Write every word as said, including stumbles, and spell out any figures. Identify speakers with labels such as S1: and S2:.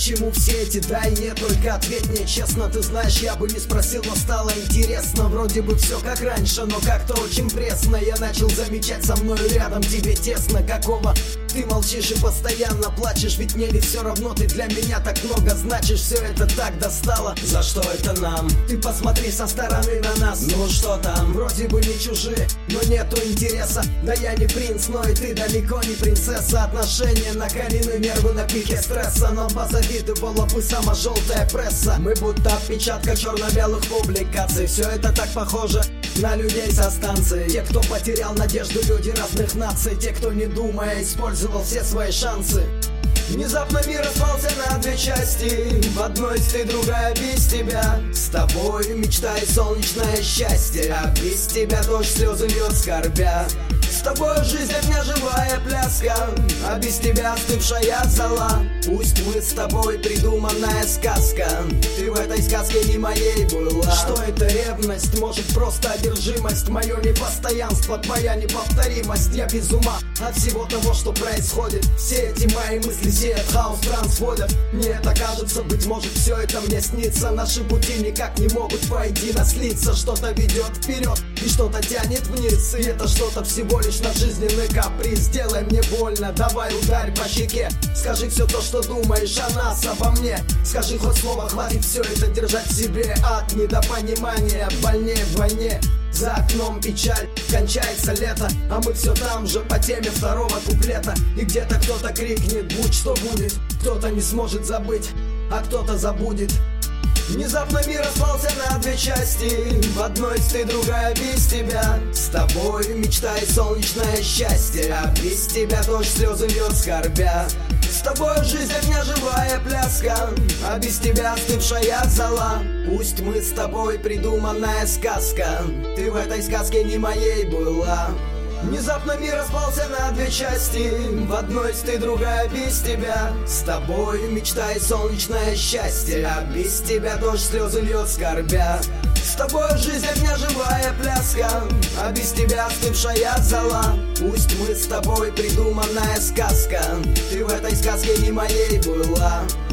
S1: чему все эти да и нет, только ответь мне честно. Ты знаешь, я бы не спросил, но стало интересно. Вроде бы все как раньше, но как-то очень пресно. Я начал замечать, со мной рядом тебе тесно. Какого ты молчишь и постоянно плачешь? Ведь мне ли все равно, ты для меня так много значишь. Все это так достало, за что это нам? Ты посмотри со стороны на нас. Ну что там, вроде бы не чужие, но нету интереса. Да я не принц, но и ты далеко не принцесса. Отношения накалены, нервы на пике стресса. Нам позавидовала бы сама желтая пресса. Мы будто отпечатка черно-белых публикаций. Все это так похоже на людей со станции. Те, кто потерял надежду, люди разных наций. Те, кто не думая использовал все свои шансы. Внезапно мир распался на две части. В одной ты, другая без тебя. С тобой мечта и солнечное счастье, а без тебя дождь, слезы льет скорбя. С тобой жизнь огня, живая пляска, а без тебя остывшая зола. Пусть мы с тобой придуманная сказка, ты в этой сказке не моей была. Что это ревность? Может просто одержимость? Мое непостоянство, твоя неповторимость. Я без ума от всего того, что происходит. Все эти мои мысли сеят хаос, трансводят. Мне это кажется, быть может все это мне снится. Наши пути никак не могут воедино слиться. Что-то ведет вперед и что-то тянет вниз. И это что-то всего лишь наш жизненный каприз. Сделай мне больно, давай ударь по щеке. Скажи все то, что думаешь о нас, обо мне. Скажи хоть слово, хватит все это держать в себе. От недопонимания больнее вдвойне. За окном печаль, кончается лето, а мы все там же по теме второго куплета. И где-то кто-то крикнет, будь что будет. Кто-то не сможет забыть, а кто-то забудет. Внезапно мир распался на две части. В одной ты, другая без тебя. С тобой мечта и солнечное счастье, а без тебя дождь, слезы льет скорбя. С тобой жизнь огня, живая пляска, а без тебя остывшая зола. Пусть мы с тобой придуманная сказка, ты в этой сказке не моей была. Внезапно мир распался на две части. В одной ты, другая без тебя. С тобой мечта и солнечное счастье, а без тебя дождь, слезы льет скорбя. С тобой жизнь огня, живая пляска, а без тебя остывшая зола. Пусть мы с тобой придуманная сказка, ты в этой сказке не моей была.